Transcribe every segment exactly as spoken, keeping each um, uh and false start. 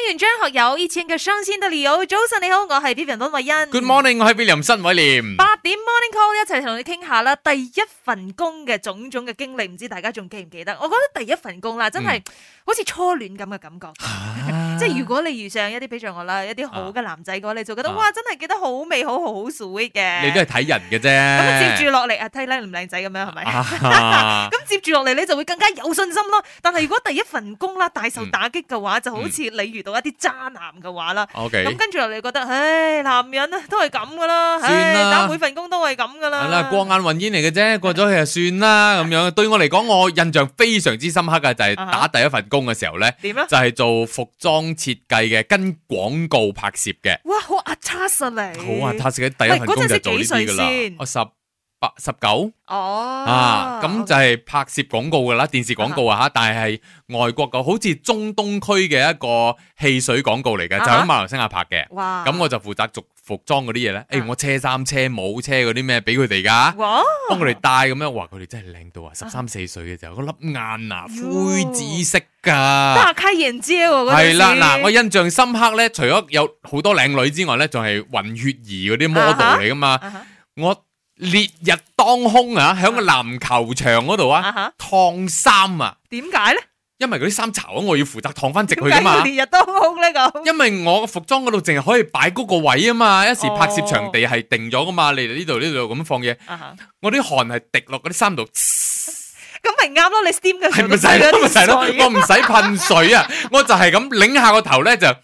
完張學友以前嘅傷心的理由。早晨你好，我係 Vivian 溫慧欣。 Good morning， 我係 William 新偉廉。 八點 Morning Call 一齊同你傾下啦，第一份工嘅種種嘅經歷，唔知大家仲記唔記得？我覺得第一份工啦，真係好似初戀咁嘅感覺。啊、即係如果你遇上一啲比如我啦，一啲好嘅男仔嘅話，你就覺得、啊、哇，真係記得好美好，好好 sweet 嘅。 你都係睇人嘅啫。 咁接住落嚟啊，睇靚唔靚仔咁樣係咪？咁、啊、接住落嚟你就會更加有信心咯。但係如果第一份工啦，大受打擊嘅話，嗯、就好似你遇到一啲渣男嘅話啦。咁、嗯、跟住落嚟覺得，唉，男人啊都係咁噶啦，算啦，打每份工都係咁噶啦。係啦， 過眼雲煙嚟嘅啫，過咗去就算啦咁樣。對我嚟講，我印象非常之深刻嘅就係打第一份工嘅時候咧，點咧？就係做服裝設計嘅，跟廣告拍攝嘅。 哇，好 attach 你， 好 attach 嘅第一份工就做呢啲噶啦。我十八、十九哦，啊，咁就係拍攝廣告噶啦，電視廣告啊吓，但係係外國嘅，好似中東區嘅一個汽水廣告嚟嘅，就喺馬來西亞拍嘅。哇！咁我就負責做服裝嗰啲嘢咧，誒，我車衫、車帽、車嗰啲咩俾佢哋噶，幫佢哋戴咁樣，哇！佢哋真係靚到啊，十三四歲嘅時候，嗰粒眼啊，灰紫色噶，大開眼界喎！係啦，嗱，我印象深刻咧，除咗有好多靚女之外咧，仲係混血兒嗰啲 model 嚟噶嘛，我。烈日當空啊，喺個籃球場嗰度啊，燙衫啊，點解咧？因為嗰啲衫潮啊，我要負責燙翻直去噶嘛。烈日當空呢個？因為我個服裝嗰度淨係可以擺嗰個位啊嘛，一時拍攝場地係定咗噶嘛，你哋呢度呢度咁放嘢，我啲汗係滴落嗰啲衫度，咁咪啱咯，你 steam 嘅時候都係咯，咪係咯，我唔使噴水啊，我就係咁擰下個頭咧就。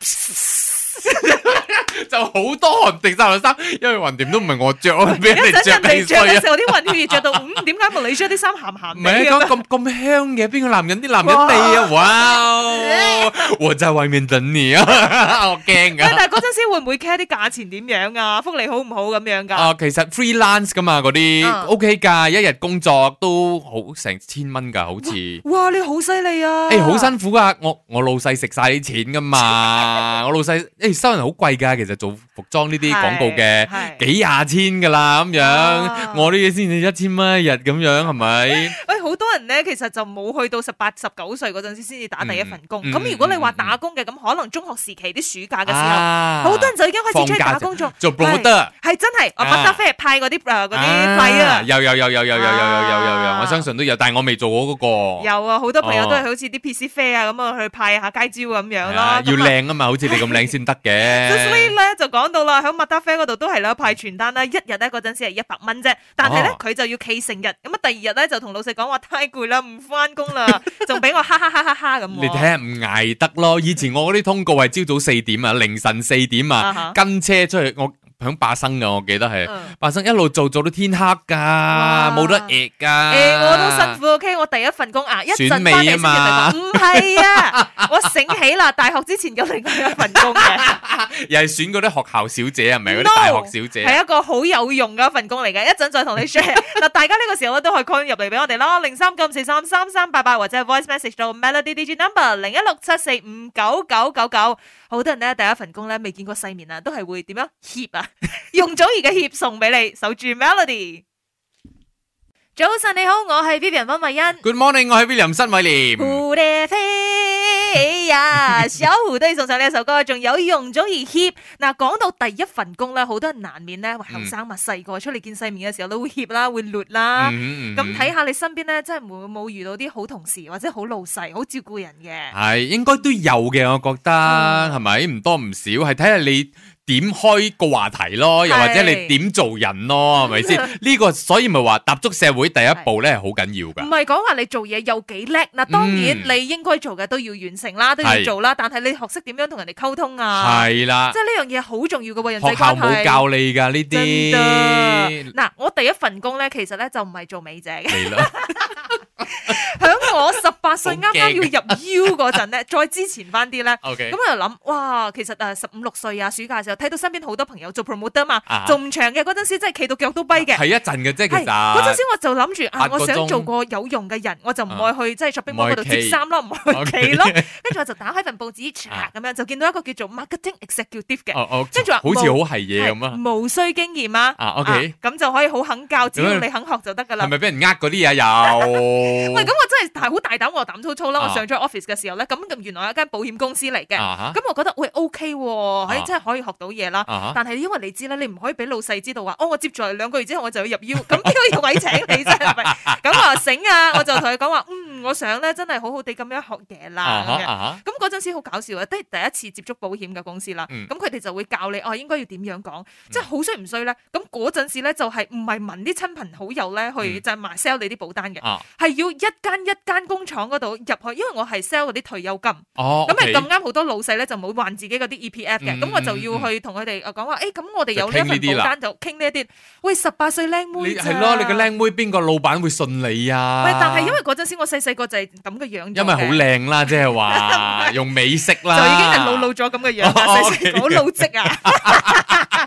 就好多汗滴晒落衫，因為橫掂都唔係我着，我俾人哋着你衰啊！有時候啲混血兒着到，嗯，點解冇你着啲衫鹹鹹？唔係講咁咁香嘅，邊個男人啲男人味啊？哇！我在外面等你啊！我驚噶。但係嗰陣時會唔會 care 啲價錢點樣啊？福利好唔好咁樣噶？啊，其實 freelance 噶嘛，嗰啲 OK 噶，一日工作都好成千蚊噶，好似。哇！你好犀利啊！誒，好辛苦噶，我我老細食晒啲錢噶嘛，我老細誒收人好貴噶，其實。做服裝呢啲廣告嘅幾廿千噶啦咁樣，啊、我呢啲先至一千蚊一日咁樣係咪？喂，好多人咧其實就冇去到十八、十九歲嗰陣時先至打第一份工。咁、嗯嗯、如果你話打工嘅，咁、嗯、可能中學時期啲暑假嘅時候，好、啊、多人就已經開始出去打工做。做 promoter 係真係，我麥德菲派嗰啲誒嗰啲費啊，有有有有有有有有有有有，我相信都有，但係我未做過嗰、嗰個。有啊，好多朋友都係好似啲 P C 飛啊咁啊去派下街招咁樣咯。要靚啊嘛，好似你咁靚先得嘅。就講到啦，喺麥達啡嗰度都係啦，派傳單啦，一日咧嗰陣時係一百蚊啫，但係咧佢就要企成日，咁啊第二日咧就同老細講話太攰啦，唔翻工啦，仲俾我哈哈哈哈哈咁。你睇下唔捱得咯，以前我嗰啲通告係朝早四點啊，凌晨四點啊，跟車出去我。響霸生噶，我記得係霸生一路做做到天黑噶，冇得搣噶。誒，我都辛苦 OK， 我第一份工啊，一陣翻嚟先至講，唔係啊，我醒起啦，大學之前有另外一份工嘅，又係選嗰啲學校小姐係咪？嗰啲大學小姐係一個好有用嘅一份工嚟嘅，一陣再同你 share。嗱，大家呢個時候咧都可以 call 入嚟俾我哋啦，零三九四三三三八八或者係 voice message 到 Melody D J number 零一六七四五九九九九。好多人咧第一份工咧未見過世面啊，都係會點樣協啊？容祖兒嘅協送俾你，守住 Melody。早晨你好，我係 Vivian 溫慧欣。Good morning， 我係 William 新偉廉。蝴蝶飛呀，小胡都要送上呢一首歌，仲有容祖兒協。嗱，講到第一份工咧，好多人難免咧，後生嘛，細個出嚟見世面嘅時候都會協啦，會劣啦。咁睇下你身邊咧，真係冇冇遇到啲好同事或者好老細，好照顧人嘅？係應該都有嘅，我覺得係咪？唔多唔少，係睇下你點開個話題咯，又或者你點做人咯，係咪先？呢個所以咪話踏足社會第一步咧係好緊要噶。唔係講話你做嘢有幾叻嗱，當然你應該做嘅都要完成啦，都要做啦。但係你學識點樣同人哋溝通啊？係啦，即係呢樣嘢好重要嘅喎，人際關係。學校冇教你噶呢啲。嗱，我第一份工咧，其實咧就唔係做美姐嘅。係啦。響我十八歲啱啱要入 U 嗰陣咧，再之前翻啲咧，咁我就諗，哇，其實誒十五六歲啊，暑假時時候睇到身邊好多朋友做 promoter 嘛，做唔長嘅嗰陣時真係企到腳都跛嘅。 係一陣嘅啫，其實嗰陣時我就諗住啊，我想做個有用嘅人，我就唔愛去即係 shopping mall 嗰度接衫咯，唔去企咯。跟住我就打開份報紙，咁樣就見到一個叫做 marketing executive 嘅，跟住話好似好係嘢咁啊， 無需經驗啊。 啊 OK， 咁就可以好肯教，只要你肯學就得噶啦。 係咪俾人呃嗰啲啊？有。 喂，咁我真係大好大膽，我膽粗粗啦。我上咗 office 嘅時候咧，咁原來有一間保險公司嚟嘅，咁我覺得喂 OK 喎，可以真係可以學到嘢啦。但係因為你知啦，你唔可以俾老細知道話，哦，我接住嚟兩個月之後我就要入腰，咁邊個位請你啫？係咪？咁我話醒啊，我就同佢講話，嗯，我想咧真係好好地咁樣學嘢啦。咁嗰陣時好搞笑啊，都係第一次接觸保險嘅公司啦。咁佢哋就會教你哦，應該要點樣講，即係好衰唔衰咧？咁嗰陣時咧就係唔係問啲親朋好友咧去就係賣 sell 你啲保單嘅，係要一間一間工廠嗰度入去，因為我係 sell 嗰啲退休金。哦，咁係咁啱好多老細咧就冇還自己嗰啲 E P F 嘅，咁我就要去同佢哋講話，誒，咁我哋有呢一份保單就傾呢一啲。喂，十八歲靚妹咋？ 係咯，你個靚妹邊個老闆會信你啊？ 喂，但係因為嗰陣時我細細個就係咁嘅樣， 因為好靚啦，即係話用美色啦， 就已經係老老咗咁嘅樣，細細好老積啊！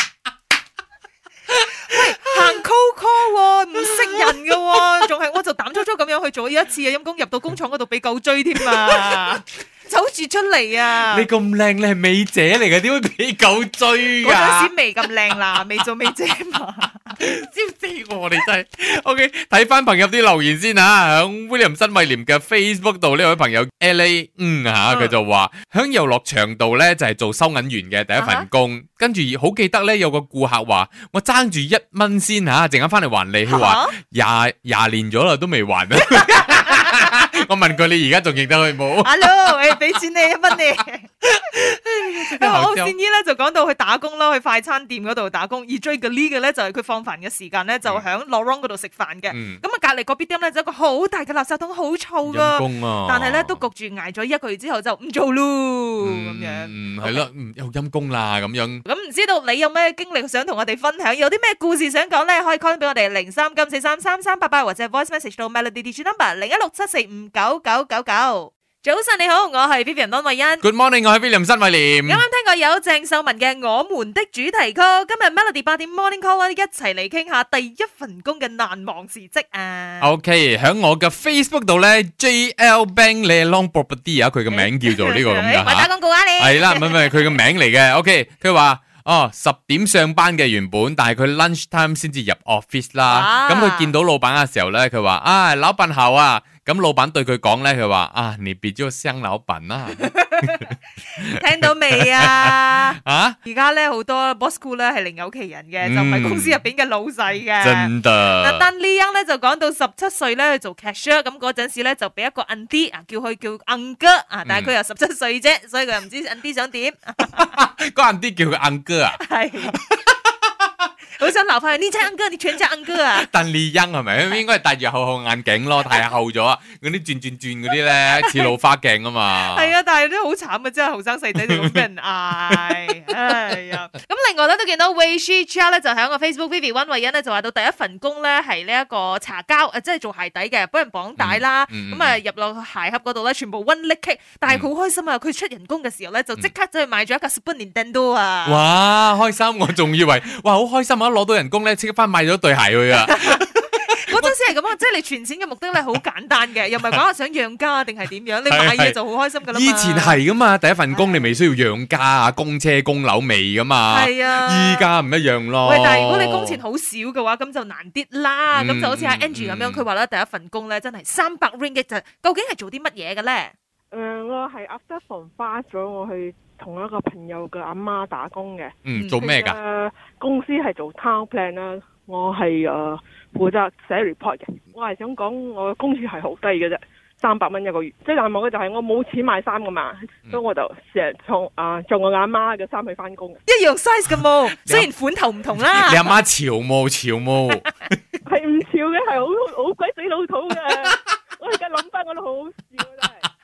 喂，行 cold call 唔識人嘅，仲係我就膽粗粗咁樣去做一次啊！陰公入到工廠嗰度俾狗追添啊！走住出嚟啊！ 你咁靚，你係美姐嚟嘅，點會俾狗追噶？ 嗰陣時未咁靚啦，未做美姐嘛。 知唔知我哋真係 OK？ 睇翻朋友啲留言先吓，響 William 新威廉嘅 Facebook 度呢位朋友 L A 嗯吓，佢就話響遊樂場度咧就係做收銀員嘅第一份工，跟住好記得咧有個顧客話我爭住一蚊先吓，陣間翻嚟還你，佢話廿廿年咗啦都未還啊！我問佢你而家仲認得佢冇 ？Hello， 誒，俾錢你一蚊你。我善姨咧就講到去打工啦，去快餐店嗰度打工，而最嘅呢嘅咧就係佢放飯嘅時間咧就響 Lorong 嗰度食飯嘅。咁啊隔籬嗰邊店咧就一個好大嘅垃圾桶，好臭噶。但係咧都焗住挨咗一個月之後就唔做咯，咁樣。 嗯，係咯，又陰公啦咁樣。 咁唔知道你有咩經歷想同我哋分享？有啲咩故事想講咧？可以 call 俾我哋零三九四三三三八八或者 voice message 到 Melody Digital Number 零一六七四五九九九九。早晨你好，我係 Vivian 溫慧欣。 Good morning， 我係 William 新威廉。 啱啱聽過有鄭秀文嘅《我們的主題曲》，今日 Melody 八點 Morning Call 一齊嚟傾下第一份工嘅難忘事蹟啊。 OK， 響我嘅 Facebook 度咧 ，J L Bank Long Property 啊，佢嘅名叫做呢個咁樣。 我打廣告啊你。 係啦，唔係唔係，佢嘅名嚟嘅。OK， 佢話。哦，十點上班嘅原本，但係佢 lunch time 先至入 office 啦。咁佢、啊、見到老闆嘅時候咧，佢話：啊，老闆好啊！咁老闆對佢講咧，佢話：啊，你別做雙老闆啦。 聽到未啊？ 啊！ 而家咧好多 boss school 咧係另有其人嘅，嗯、就唔係公司入邊嘅老細嘅。 真的。 嗱，但呢樣咧就講到十七歲咧去做 cashier，咁嗰陣時咧就俾一個 auntie 啊，叫佢叫 uncle 啊，但係佢又十七歲啫，所以佢又唔知 auntie 想點。 個 auntie 叫佢 uncle 啊？ 係。好想鬧翻佢，呢隻 uncle，你全隻 uncle 啊！ 鄧麗欣係咪？應該係戴住厚厚眼鏡咯，太厚咗啊！嗰啲轉轉轉嗰啲咧，似老花鏡啊嘛。係啊，但係都好慘啊！真係後生細仔就咁俾人嗌，哎呀！咁另外咧都見到 Wei Shi Chia 咧就喺個 Facebook Vivi 溫慧欣咧就話到第一份工咧係呢一個茶膠誒，即係做鞋底嘅，幫人綁帶啦。咁啊入落鞋盒嗰度咧，全部 one lick kick，但係佢好開心啊！佢出人工嘅時候咧就即刻走去買咗一架 Super Nintendo 啊！ 哇，開心！我仲以為哇好開心啊！攞到人工咧，即刻翻買咗對鞋去啊！ 嗰陣時係咁啊，即係你存錢嘅目的咧，好簡單嘅，又唔係講話想養家定係點樣，你買嘢就好開心噶啦嘛。以前係噶嘛，第一份工你未需要養家啊，供車供樓未噶嘛。係啊，依家唔一樣咯。 喂，但係如果你工錢好少嘅話，咁就難啲啦。咁就好似阿 Angie 咁樣，佢話咧第一份工咧真係三百 ringgit 就，究竟係做啲乜嘢嘅咧？ 誒，我係 after from fast 咗，我去同一個朋友嘅阿媽打工嘅。 嗯，做咩噶？ 誒，公司係做 town plan 啦，我係誒負責寫 report 嘅。我係想講我嘅工資係好低嘅啫，三百蚊一個月。最難忘嘅就係我冇錢買衫噶嘛，嗯、所以我就成日從啊做我阿媽嘅衫去翻工。 一樣 size 嘅冇，雖然款頭唔同啦。 你阿媽潮冇潮冇？ 係唔潮嘅，係好好鬼死老土嘅。我而家諗翻我都好好笑真係。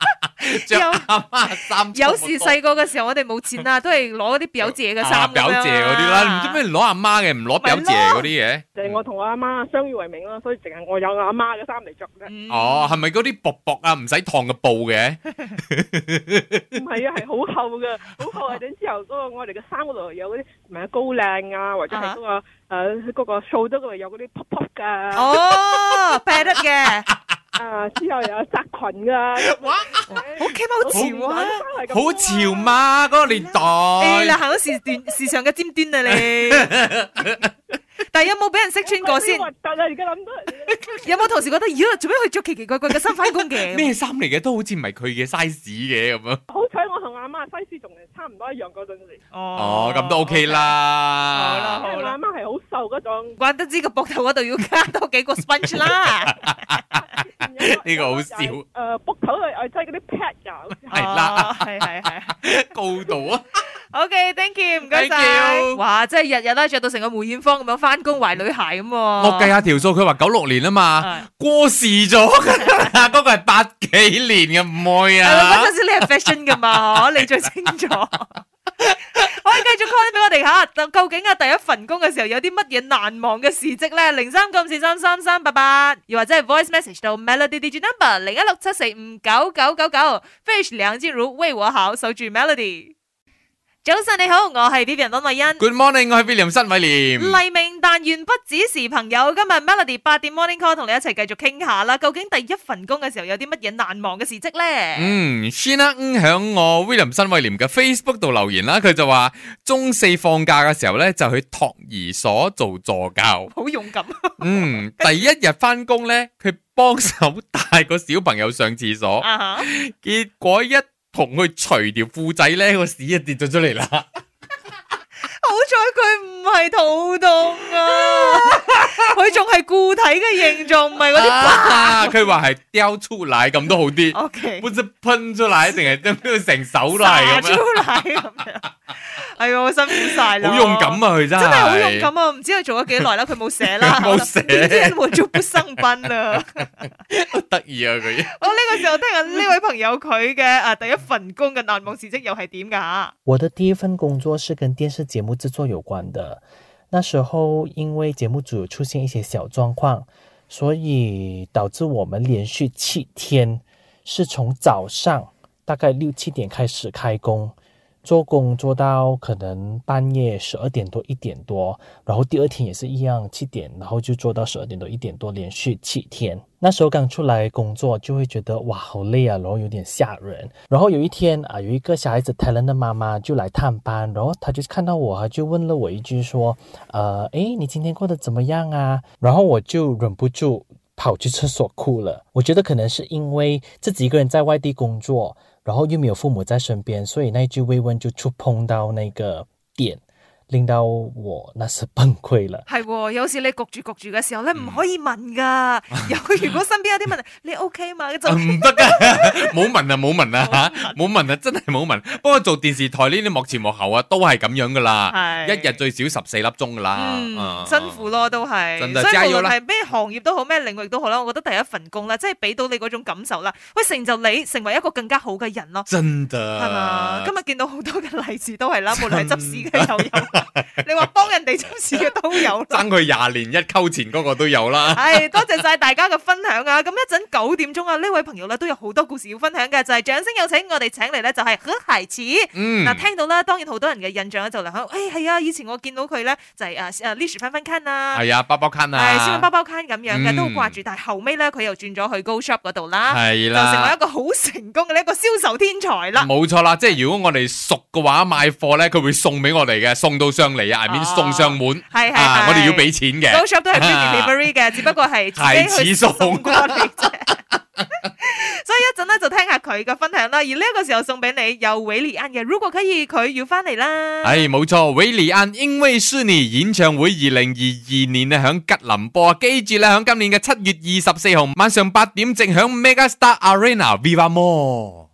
着阿媽衫。 有時細個嘅時候，我哋冇錢啊，都係攞嗰啲表姐嘅衫。 表姐嗰啲啦，唔知咩攞阿媽嘅，唔攞表姐嗰啲嘅。 就係我同我阿媽相依為命啦，所以淨係我有我阿媽嘅衫嚟着啫。 哦，係咪嗰啲薄薄啊，唔使燙嘅布嘅？ 唔係啊，係好厚嘅，好厚啊！等之後嗰個我哋嘅衫嗰度有嗰啲唔係高領啊，或者係嗰個誒嗰個掃得嗰度有嗰啲泡泡㗎。 哦，劈得嘅。 啊！之後又有紮裙噶， 哇！好 K 好潮啊， 好潮嘛！嗰個年代， 誒嗱，行到時段時尚嘅尖端啊你。但係有冇俾人識穿過先？核突啊！而家諗到，有冇同事覺得，咦？做咩佢着奇奇怪怪嘅衫翻工嘅？ 咩衫嚟嘅？都好似唔係佢嘅 size 嘅咁樣。 好彩我同阿媽 size 仲係差唔多一樣嗰陣時。 哦，咁都 OK 啦。 好啦，好啦。因為我阿媽係好瘦嗰種， 怪得知個膊頭嗰度要加多幾個 sponge 啦。 呢個好笑。誒， 膊頭度誒，即係嗰啲 pad 㗎。 係啦， 係係係。 高度啊！ OK，thank you，唔該晒。哇，真係日日咧着到成個梅艷芳咁樣翻工懷女孩咁。 我計下條數，佢話九六年啊嘛，過時咗㗎，嗰個係八幾年嘅唔會啊。 嗰陣時你係 fashion 噶嘛，你最清楚。可以繼續 call 俾我哋吓，究竟啊第一份工嘅時候有啲乜嘢難忘嘅事蹟咧？零三九四三三三八八，又或者係 voice message 到 Melody Digi number 零一六七四五九九九九 ，Fish 梁靜茹為我好，守住 Melody。早晨你好，我係 Vivian 溫慧欣。 Good morning， 我係 William 申偉廉。 黎明但願不只是朋友，今日 Melody 八點 Morning Call 同你一齊繼續傾下啦。究竟第一份工嘅時候有啲乜嘢難忘嘅事蹟咧？ 嗯 Shina 響我 William 申偉廉嘅 Facebook 度留言啦，佢就話中四放假嘅時候咧就去托兒所做助教， 好勇敢。 嗯，第一日翻工咧，佢幫手帶個小朋友上廁所， uh-huh. 結果一同佢除條褲仔咧，個屎就跌咗出嚟啦。 好彩佢唔係肚痛啊，佢仲係固體嘅形狀，唔係嗰啲。 佢話係掉出嚟咁都好啲。 O K， 不知噴出嚟定係將佢成手都係咁樣。 出嚟咁樣。係啊，辛苦晒啦。 好勇敢啊，佢真係。真係好勇敢啊！唔知佢做咗幾耐啦，佢冇寫啦。 冇寫。 今天我就不上班啦。 好得意啊佢。 我呢個時候聽下呢位朋友佢嘅啊第一份工嘅難忘事蹟又係點噶？ 我的第一份工作是跟電視節目製作有關的。那時候因為節目組出現一些小狀況，所以導致我們連續七天是從早上大概六七點開始開工。做工做到可能半夜十二點多一點多，然後第二天也是一樣七點，然後就做到十二點多一點多，連續七天。那時候剛出來工作就會覺得哇好累啊，然後有點嚇人。然後有一天啊，有一個小孩子 talent 的媽媽就來探班，然後他就看到我，他就問了我一句說，呃，誒，你今天過得怎麼樣啊？然後我就忍不住跑去廁所哭了。我覺得可能是因為自己一個人在外地工作，然後又沒有父母在身邊，所以那句慰問就觸碰到那個點，令到我那時崩潰了。 係，有時你焗住焗住嘅時候咧，唔可以問噶。有如果身邊有啲問題，你 OK 嘛？就唔得噶，冇問啊，冇問啊吓，冇問啊，真係冇問。不過做電視台呢啲幕前幕後啊，都係咁樣噶啦，一日最少十四粒鐘噶啦， 嗯，辛苦咯，都係。 真係， 所以無論係咩行業都好，咩領域都好啦，我覺得第一份工咧，即係俾到你嗰種感受啦，會成就你成為一個更加好嘅人咯。 真的係嘛？今日見到好多嘅例子都係啦，無論係執屎嘅又有。你話幫人哋執事嘅都有啦， 爭佢廿年一溝錢嗰個都有啦。 係多謝晒大家嘅分享啊！咁一陣九點鐘啊，呢位朋友咧都有好多故事要分享嘅，就係、是、掌聲有請我哋請嚟咧就係何孩子。嗯，嗱聽到啦，當然好多人嘅印象咧就嚟響，誒係啊，以前我見到佢咧就係誒誒 Lish 翻翻 can 啊， 係啊，包包 can 啊， 係燒包包 can 咁樣嘅，都好掛住。但係後尾咧佢又轉咗去 Go Shop 嗰度啦， 係啦， 就成為一個好成功嘅一個銷售天才啦。 冇錯啦，即係如果我哋熟嘅話，買貨咧佢會送俾我哋嘅，送到上嚟啊，下面送上門， 係係、 啊，我哋要俾錢嘅。 Go Shop 都係 free delivery 嘅，只不過係自己去送過嚟啫。所以一陣咧就聽下佢嘅分享啦。而呢一個時候送俾你有韋禮安嘅，如果可以佢要翻嚟啦。 係冇錯，韋禮安因為是你演唱會二零二二年咧響吉林播，記住啦，響今年嘅七月二十四號晚上八點正響 Mega Star Arena Viva Mall。